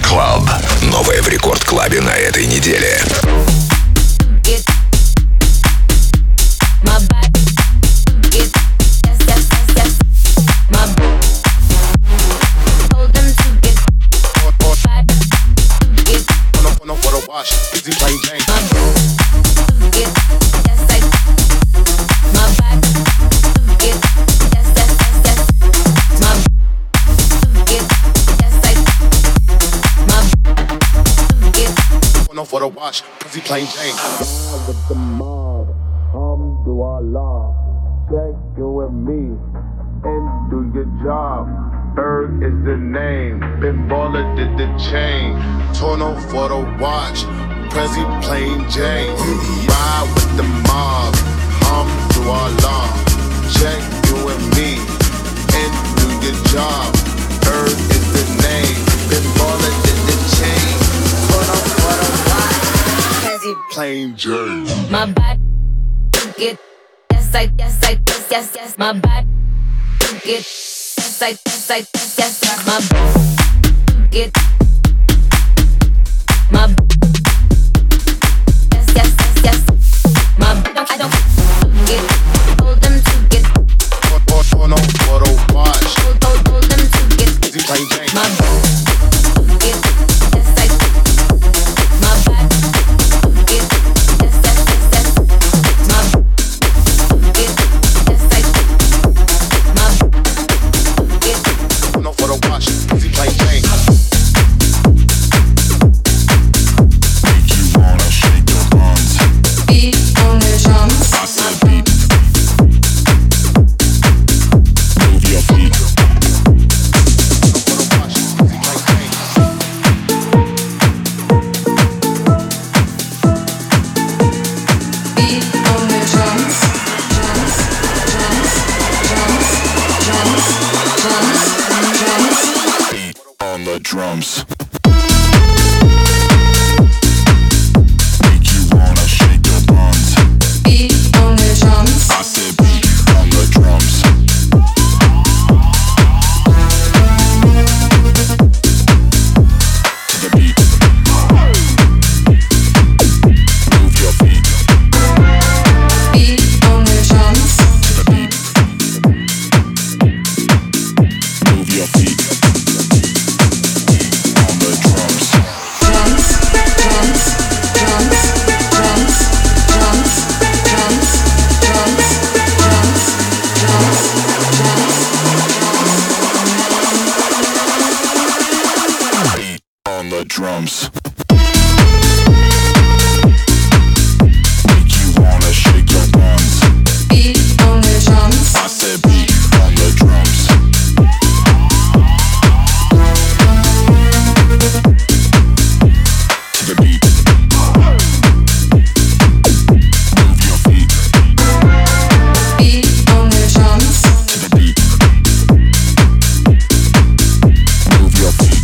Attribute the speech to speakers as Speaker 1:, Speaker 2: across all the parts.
Speaker 1: Club. Новое в Рекорд Клабе на этой неделе.
Speaker 2: Easy plain Jane. For the wash, easy plain Jane.
Speaker 3: With the mob, Alhamdulillah. Check you with me and do your job. Berg is the name. Ben Baller did the chain. Torno for the watch. Prezi plain Jane. Ride with the mob. Alhamdulillah. Check you and me and do your job. Berg is the name. Ben Baller did the chain. Torno for the watch. Prezi plain Jane.
Speaker 4: My body get yes, my body get yes, my get my yes, my I don't get hold them to get
Speaker 3: Torno for the watch.
Speaker 4: hold them to get
Speaker 3: Easy plain Jane.
Speaker 4: my get yes, my body get yes, my get yes, my get
Speaker 3: Torno for the watch. Easy plain Jane.
Speaker 5: Make you wanna shake your buns.
Speaker 6: Beat on the drums.
Speaker 5: I said beat. Move your feet.
Speaker 3: For the watch. Easy plain Jane.
Speaker 6: Beat on the drums. Drums. Drums. Drums. Drums. Drums.
Speaker 5: Beat on the drums. Make you wanna shake your buns.
Speaker 6: Beat on the drums.
Speaker 5: I said beat on the drums. To the beat. Move your feet.
Speaker 6: Beat on the drums.
Speaker 5: To the beat. Move your feet. On the drums.
Speaker 6: Drums. Drums. Drums. Drums. Drums. Drums. Drums. Drums. Drums.
Speaker 5: Beat on the drums. Make you wanna shake your buns.
Speaker 6: Beat on the drums.
Speaker 5: I said beat on the drums. To the beat. Move your feet.
Speaker 6: Beat on the drums.
Speaker 5: To the beat. Move your feet.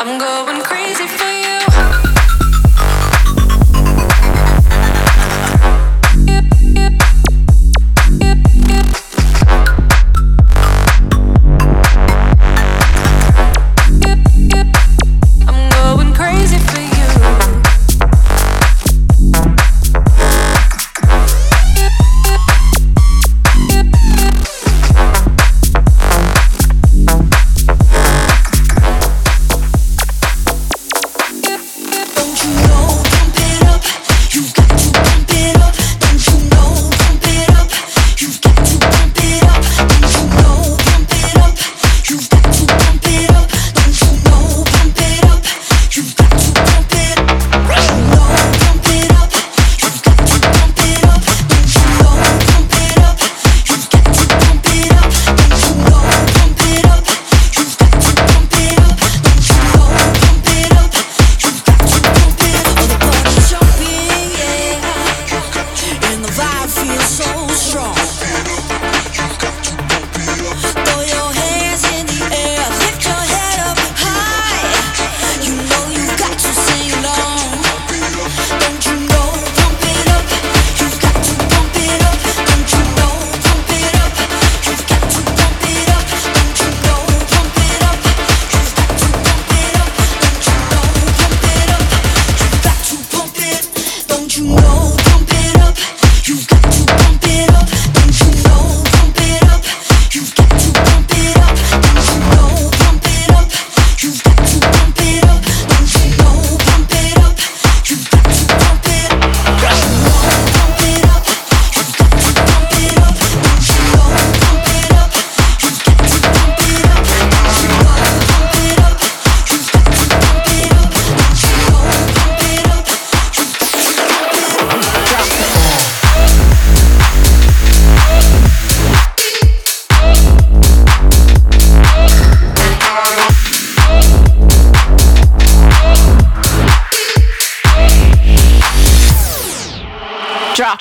Speaker 4: I'm going crazy for you. I'm going crazy for you. Drop.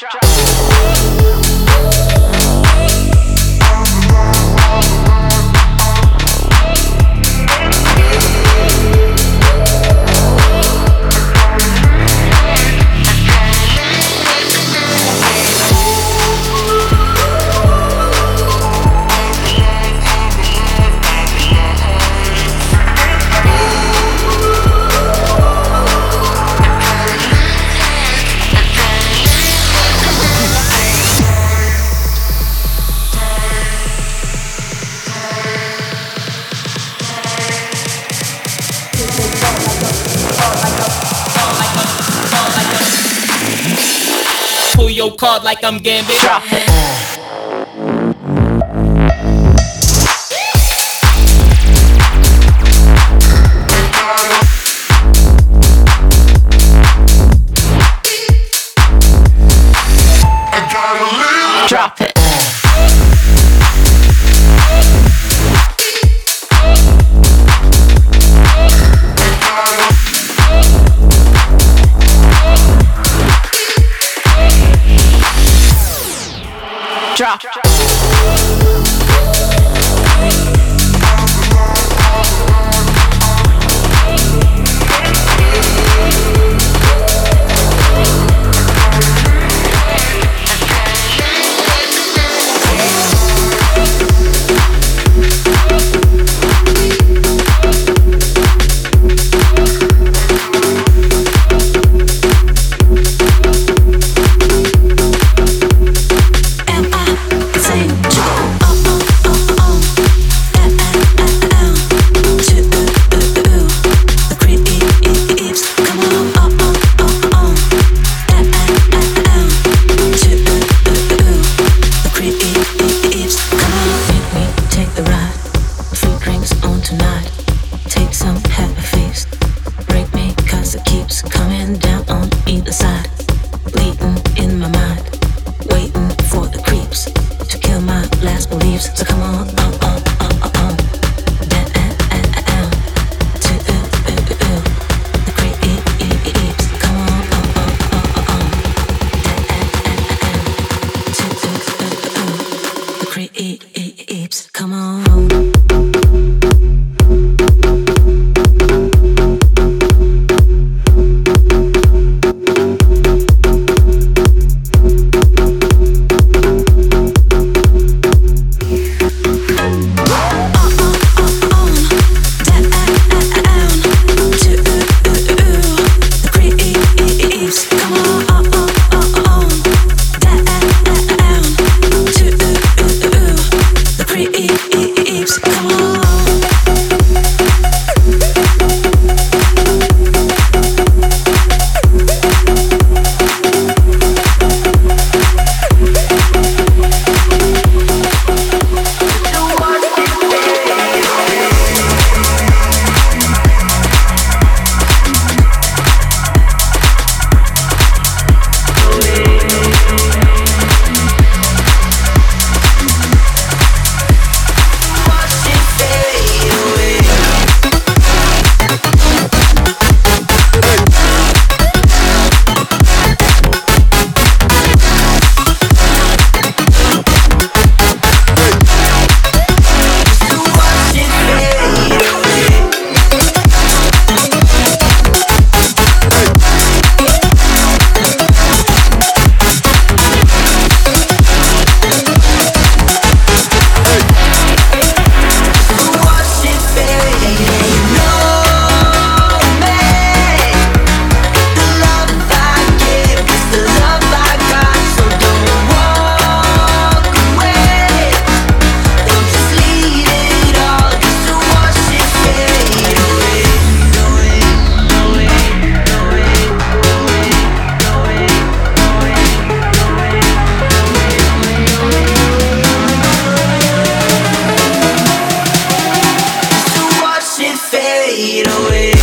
Speaker 7: Pull your card like I'm Gambit. Drop it. Drop it. Drop.
Speaker 4: Am I
Speaker 8: 808.